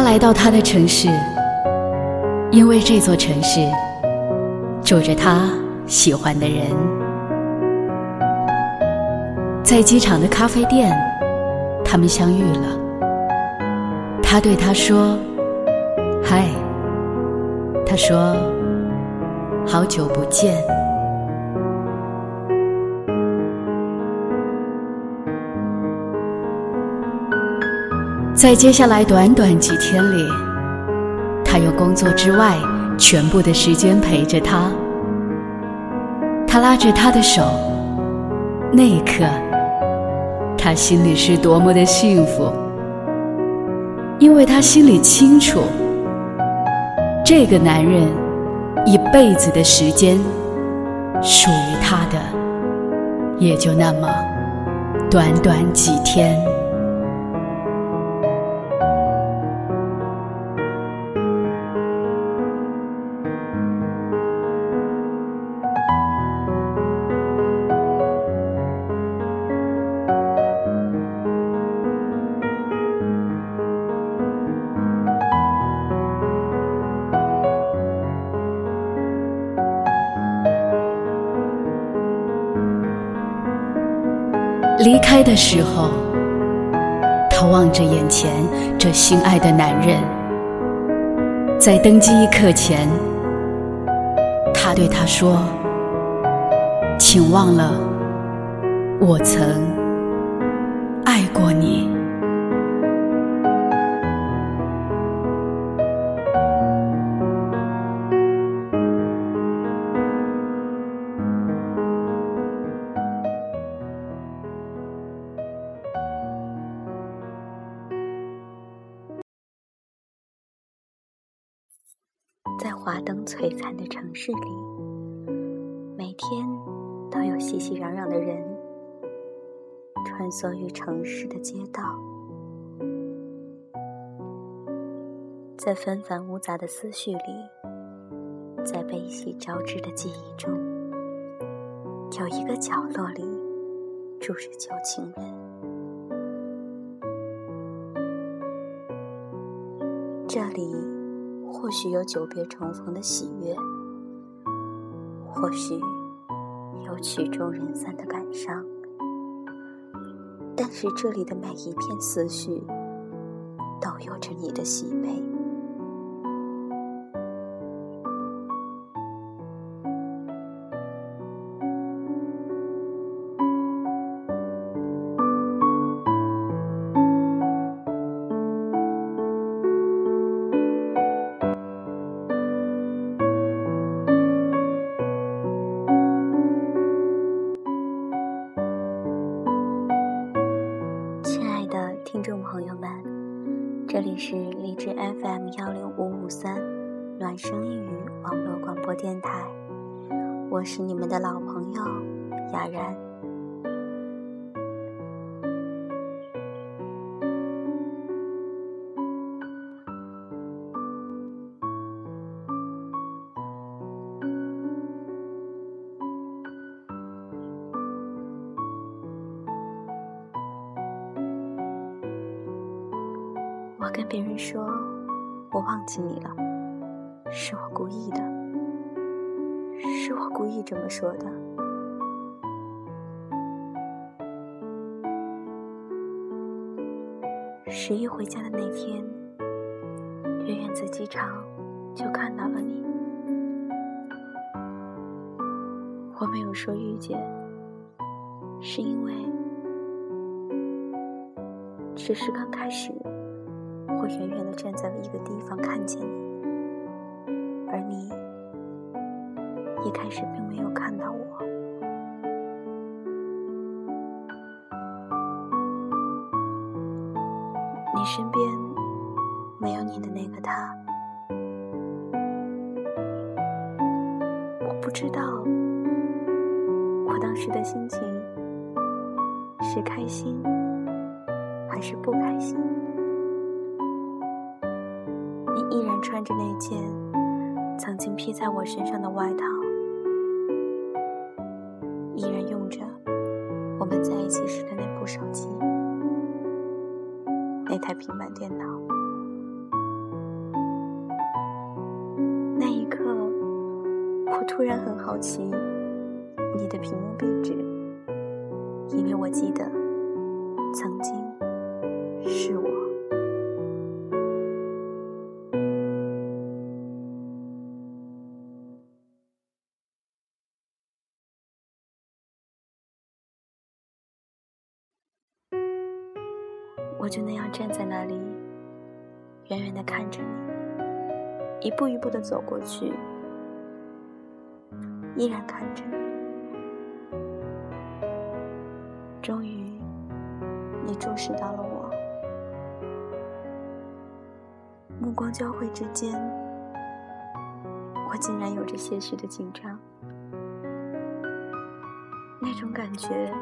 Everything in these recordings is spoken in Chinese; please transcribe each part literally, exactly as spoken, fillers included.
来到他的城市，因为这座城市住着他喜欢的人。在机场的咖啡店，他们相遇了。他对他说：嗨。他说：好久不见。在接下来短短几天里，他用工作之外全部的时间陪着他。他拉着他的手，那一刻他心里是多么的幸福，因为他心里清楚，这个男人一辈子的时间属于他的也就那么短短几天。离开的时候，他望着眼前这心爱的男人，在登机一刻前，他对他说：请忘了我曾爱过你。 在华灯璀璨的城市里，每天都有熙熙攘攘的人穿梭于城市的街道。在纷繁芜杂的思绪里，在悲喜交织的记忆中，有一个角落里住着旧情人。这里或许有久别重逢的喜悦，或许有曲终人散的感伤，但是这里的每一片思绪都有着你的喜悲。听众朋友们，这里是荔枝 F M 一零五五三暖声一语网络广播电台，我是你们的老朋友雅然。我跟别人说我忘记你了，是我故意的，是我故意这么说的。十一回家的那天，远远在机场就看到了你。我没有说遇见，是因为只是刚开始我远远地站在了一个地方看见你，而你一开始并没有看到我。你身边没有你的那个他，我不知道我当时的心情是开心还是不开心。你依然穿着那件曾经披在我身上的外套，依然用着我们在一起时的那部手机，那台平板电脑。 我突然很好奇你的屏幕壁纸，因为我记得曾经是我。我就那样站在那里，远远地看着你，一步一步地走过去，依然看着你。终于，你注视到了我，目光交汇之间，我竟然有着些许的紧张，那种感觉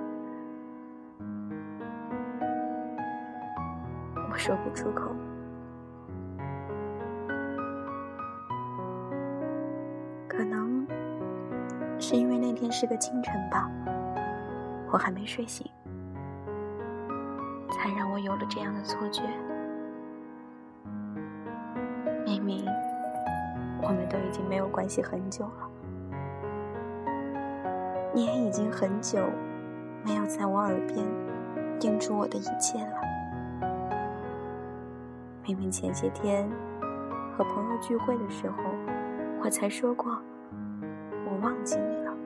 我说不出口。可能是因为那天是个清晨吧，我还没睡醒，才让我有了这样的错觉。明明我们都已经没有关系很久了，你也已经很久没有在我耳边叮嘱我的一切了。明明前些天和朋友聚会的时候，我才说过我忘记你了。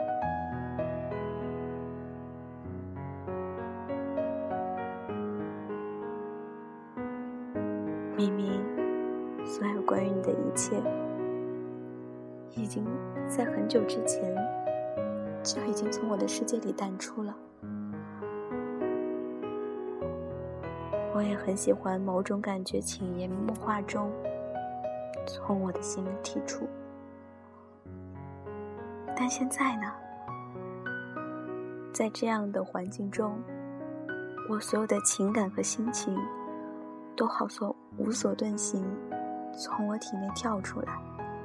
明明所有关于你的一切已经在很久之前就已经从我的世界里淡出了。我也很喜欢某种感觉潜移默化中从我的心里剔除，但现在呢，在这样的环境中，我所有的情感和心情都好所无所遁形，从我体内跳出来。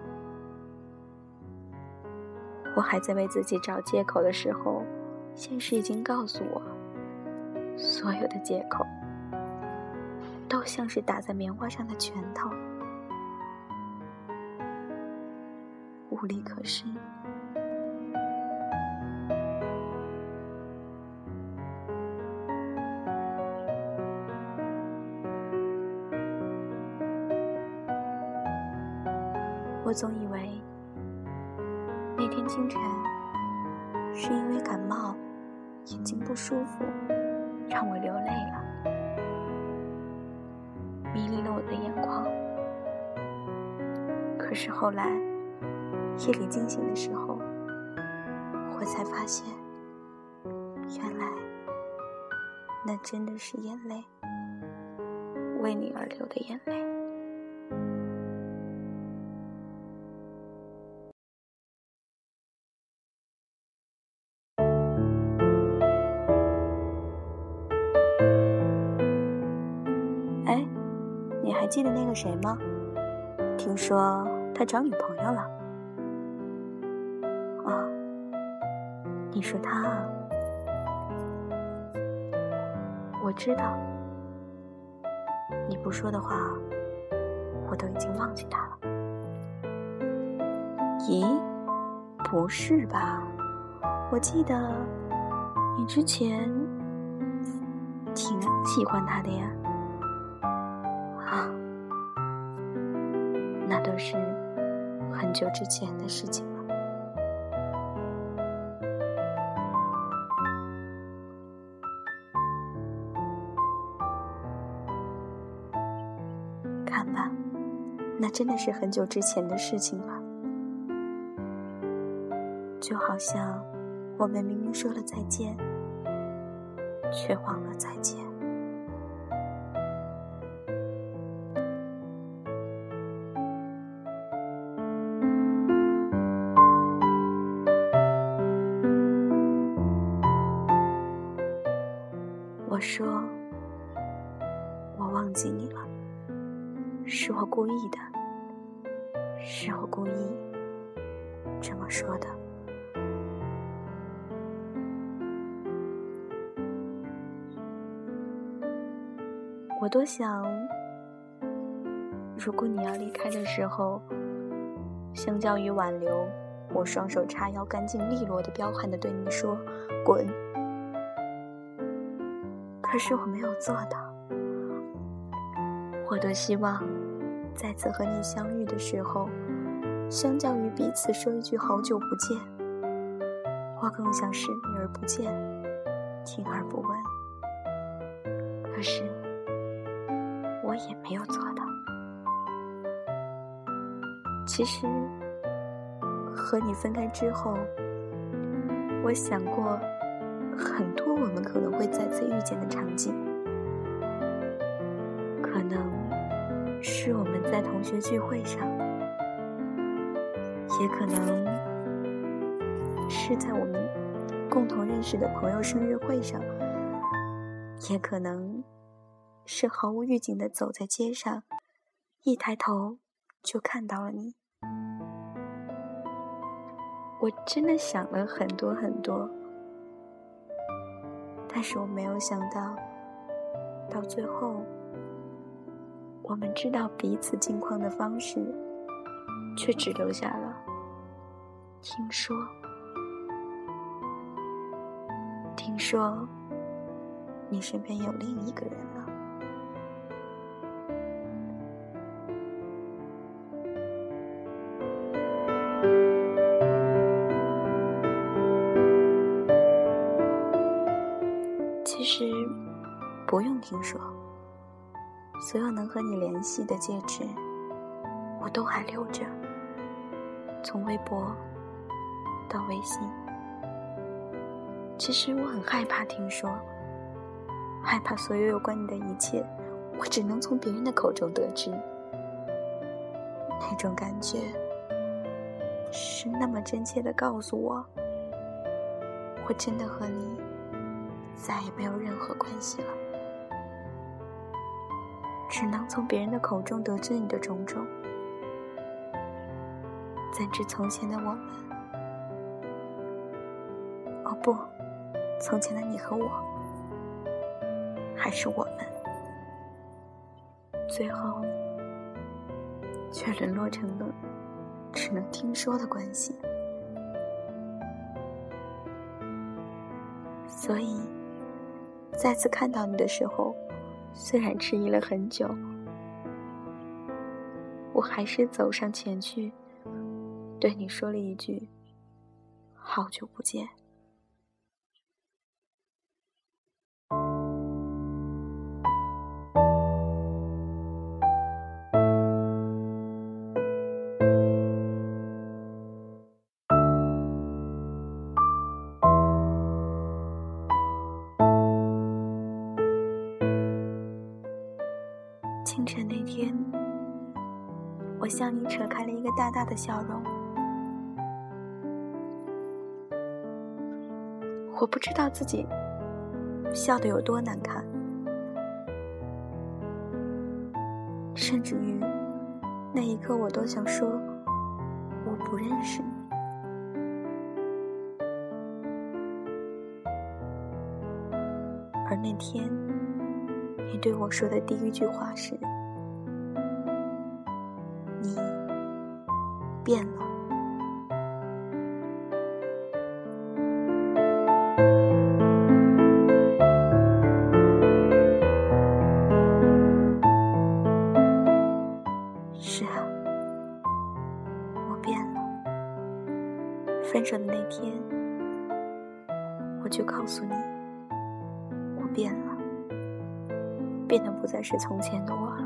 我还在为自己找借口的时候，现实已经告诉我，所有的借口都像是打在棉花上的拳头，无力可施。我总以为那天清晨是因为感冒，眼睛不舒服，让我流泪了，迷离了我的眼眶。可是后来夜里惊醒的时候，我才发现，原来那真的是眼泪，为你而流的眼泪。哎，你还记得那个谁吗？听说他找女朋友了。哦，你说他啊？我知道，你不说的话，我都已经忘记他了。咦，不是吧？我记得你之前挺喜欢他的呀。啊，那都是很久之前的事情了。看吧，那真的是很久之前的事情了。就好像我们明明说了再见，却忘了再见。我说我忘记你了，是我故意的，是我故意这么说的。我多想，如果你要离开的时候， 相较于挽留，我双手叉腰，干净利落地彪悍地对你说滚。可是我没有做到。我多希望再次和你相遇的时候，相较于彼此说一句好久不见，我更想视你而不见，听而不闻。可是我也没有做到。其实和你分开之后，我想过很多我们可能会再次遇见的场景，可能是我们在同学聚会上，也可能是在我们共同认识的朋友生日会上，也可能是毫无预警地走在街上，一抬头就看到了你。我真的想了很多很多，但是我没有想到，到最后我们知道彼此近况的方式，却只留下了听说。听说你身边有另一个人了。其实不用听说，所有能和你联系的戒指我都还留着，从微博到微信。其实我很害怕听说，害怕所有有关你的一切我只能从别人的口中得知。那种感觉是那么真切地告诉我，我真的和你再也没有任何关系了，只能从别人的口中得知你的种种。怎知从前的我们，哦不，从前的你和我，还是我们，最后却沦落成了只能听说的关系。所以再次看到你的时候，虽然迟疑了很久，我还是走上前去，对你说了一句好久不见。清晨那天，我向你扯开了一个大大的笑容。我不知道自己笑得有多难看，甚至于那一刻我都想说我不认识你。而那天你对我说的第一句话是，你变了。是啊，我变了。分手的那天，我就告诉你，我变了，变得不再是从前的我了。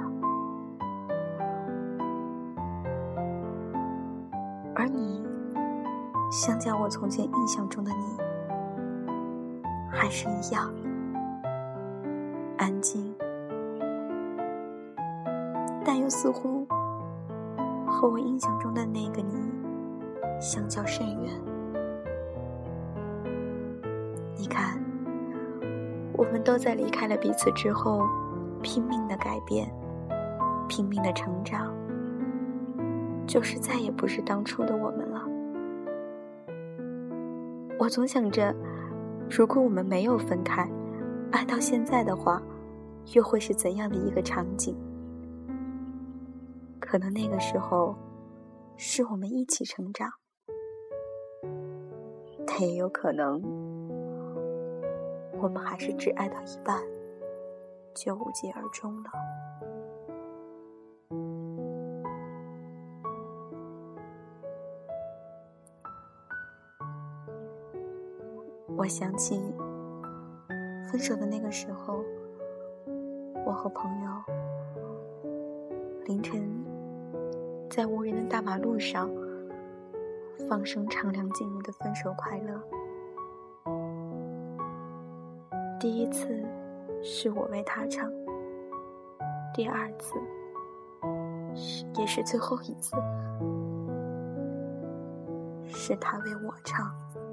而你，相较我从前印象中的你，还是一样安静，但又似乎和我印象中的那个你相较甚远。你看，我们都在离开了彼此之后拼命的改变，拼命的成长，就是再也不是当初的我们了。我总想着，如果我们没有分开，爱到现在的话，又会是怎样的一个场景？可能那个时候是我们一起成长，但也有可能我们还是只爱到一半就无疾而终了。我想起分手的那个时候，我和朋友凌晨在无人的大马路上放声唱梁静茹的《分手快乐》。第一次是我为他唱，第二次也是最后一次是他为我唱。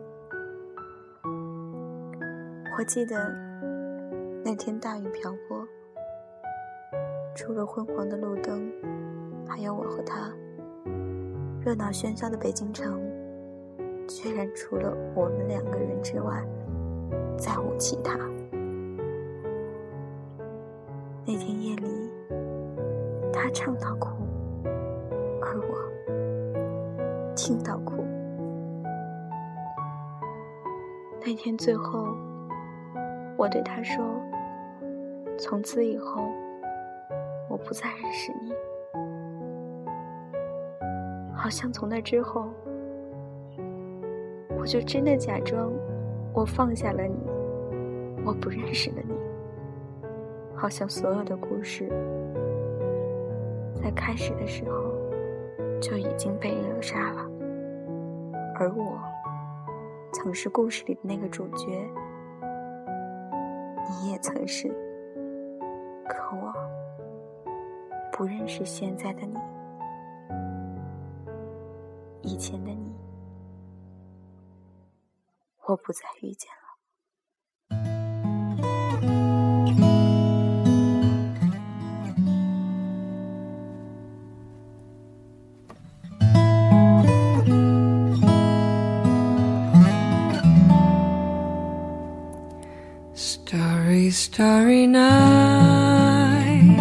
我记得那天大雨瓢泼，除了昏黄的路灯，还有我和他，热闹喧嚣的北京城居然除了我们两个人之外再无其他。那天夜里，他唱到哭，而我听到哭。那天最后，我对他说，从此以后我不再认识你。好像从那之后，我就真的假装我放下了你，我不认识了你。好像所有的故事在开始的时候就已经被扼杀了，而我曾是故事里的那个主角，你也曾是，可我不认识现在的你，以前的你，我不再遇见了。 Starry, starry night,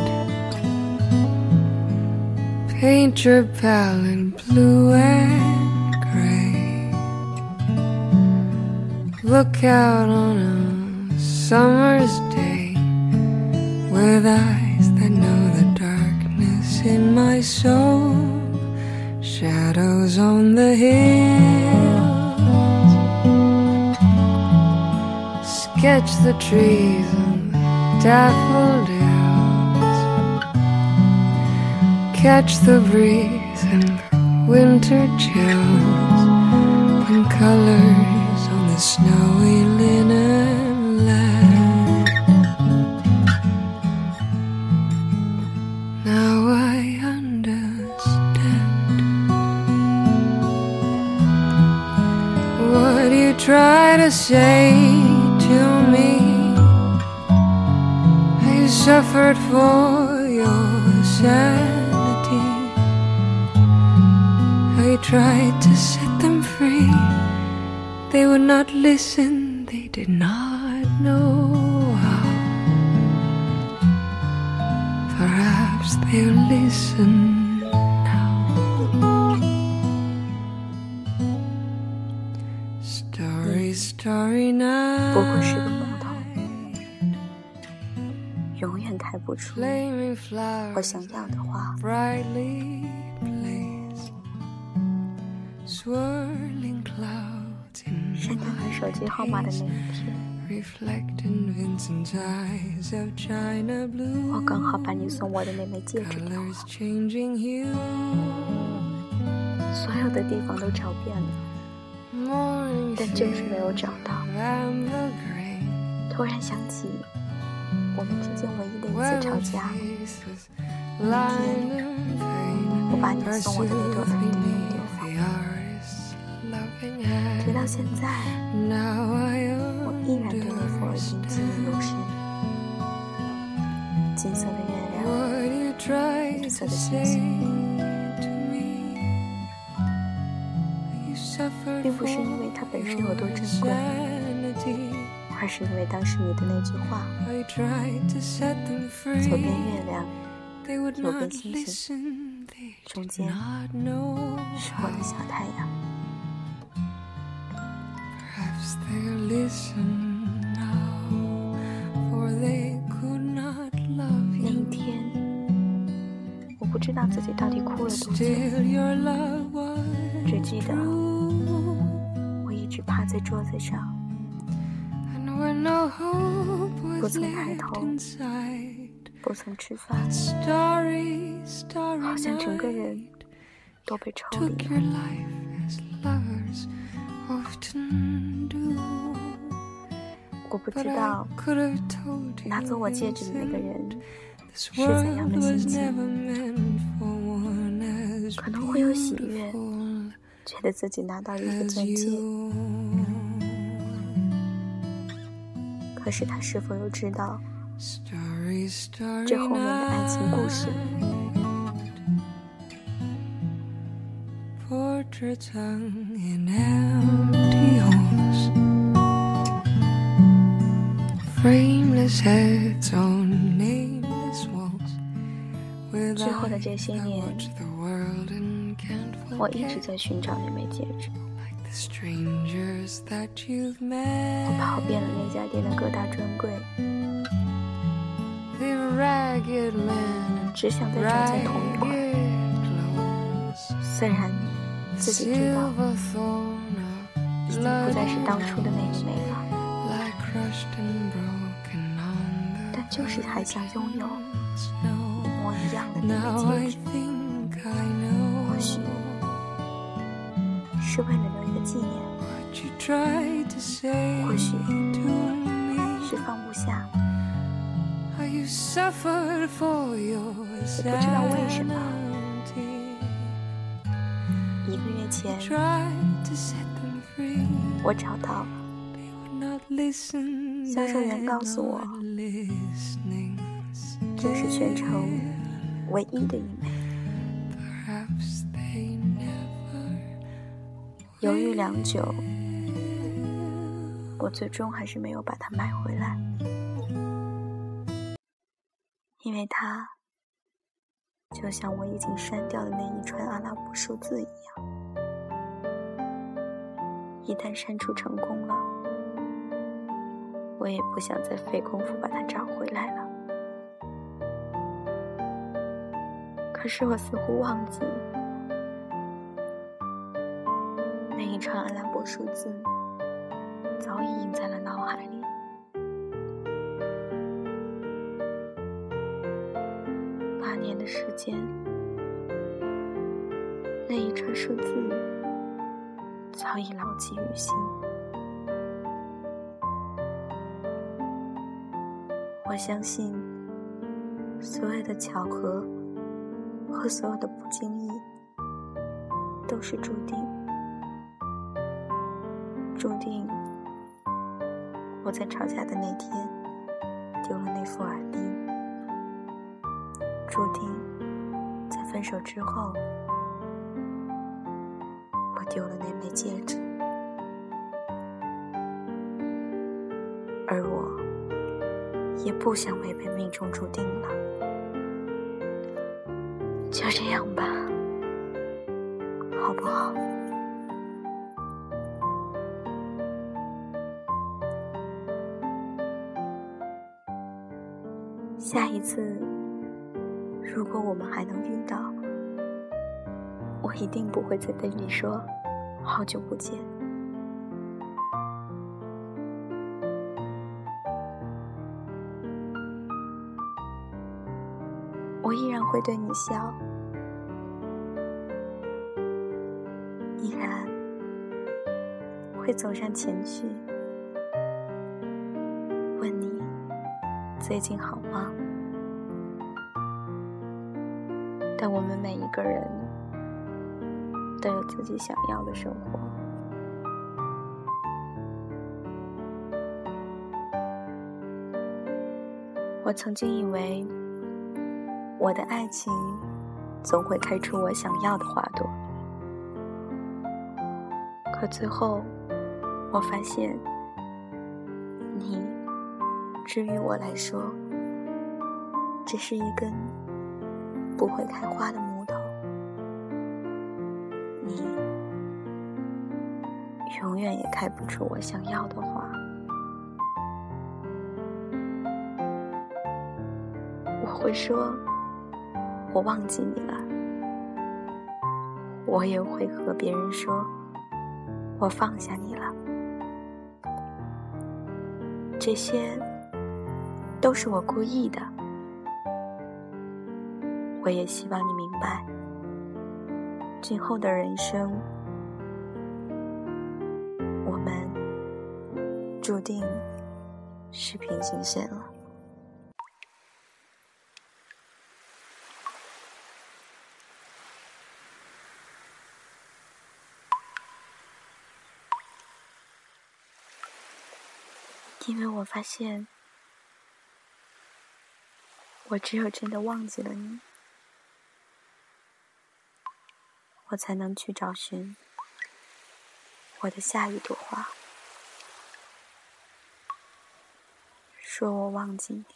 paint your palette blue and gray. Look out on a summer's day with eyes that know the darkness in my soul. Shadows on the hills, sketch the trees and daffodils, catch the breeze and winter chills, and colors on the snowy linen land. Now I understand what you try to say to me. I suffered for your sanity. I tried to set them free. They would not listen, they did not know how. Perhaps they'll listen now. Starry, starry night, 不过是个梦头，永远开不出我想要的花。 brightly blazed, swirling clouds in 删掉你手机号码的那一天， reflecting Vincent's eyes of china blue. 我刚好把你送我的那枚戒指给 Colors 我， changing hue, 所有的地方都找遍了， morning 但就是没有找到。 amber grain. 突然想起我们之间唯一的一次吵架，我把你送我的那朵粉丢了，直到现在，我依然对那幅耳钉记忆犹深。金色的月亮，绿色的星星，并不是因为它本身有多珍贵，而是因为当时你的那句话：左边月亮， 右边星星，中间是我的小太阳。那一天，我不知道自己到底哭了多久，只记得我一直趴在桌子上，不曾抬头，不曾吃饭，好像整个人都被抽离了。我不知道拿走我戒指的那个人是怎样的心情，可能会有喜悦，觉得自己拿到一个钻戒，可是他是否又知道这后面的爱情故事 ？Portraits hung in empty halls, frameless heads on nameless walls. 之后的这些年，我一直在寻找那枚戒指。我跑遍了那家店的各大专柜，只想再找见同一款。虽然自己知道已经不再是当初的那一枚了，但就是还想拥有一模一样的那枚戒指。或许是为了留一个纪念，或许是放不下，也不知道为什么。一个月前，我找到销售员告诉我，这是全城唯一的一枚。犹豫良久，我最终还是没有把它买回来，因为它就像我已经删掉的那一串阿拉伯数字一样，一旦删除成功了，我也不想再费功夫把它找回来了。可是我似乎忘记，那一串阿拉伯数字早已印在了脑海里。八年的时间，那一串数字早已牢记于心。我相信，所有的巧合和所有的不经意，都是注定。注定我在吵架的那天丢了那副耳钉，注定在分手之后我丢了那枚戒指，而我也不想违背命中注定了。就这样吧，好不好？下一次，如果我们还能遇到，我一定不会再对你说好久不见。我依然会对你笑，依然会走上前去，问你最近好吗？但我们每一个人都有自己想要的生活。我曾经以为我的爱情总会开出我想要的花朵，可最后我发现，你至于我来说，只是一根不会开花的木头，你永远也开不出我想要的花。我会说我忘记你了，我也会和别人说我放下你了。这些都是我故意的，我也希望你明白，今后的人生，我们注定是平行线了。因为我发现，我只有真的忘记了你，我才能去找寻我的下一朵花。说我忘记你，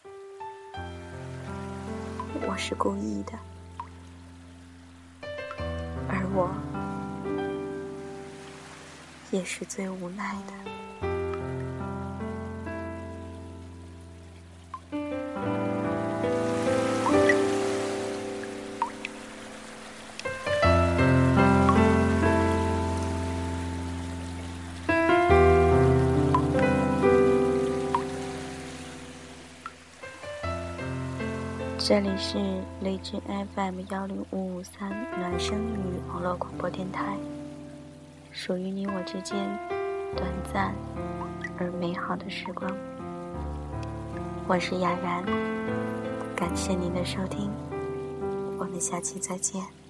我是故意的，而我也是最无奈的。这里是荔枝 F M 幺零五五三暖声语网络广播电台，属于你我之间短暂而美好的时光。我是雅然，感谢您的收听，我们下期再见。